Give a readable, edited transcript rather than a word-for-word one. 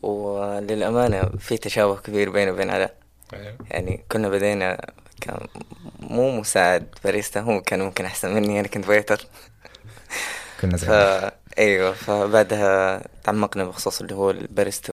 وللأمانة في تشابه كبير بيني وبين علاء. أيوة. يعني كنا بدينا كان مو مساعد باريستا، هو كان ممكن أحسن مني، أنا كنت ويتر. كنا زي بعض. فا أيوة، فبعدها تعمقنا بخصوص اللي هو الباريستا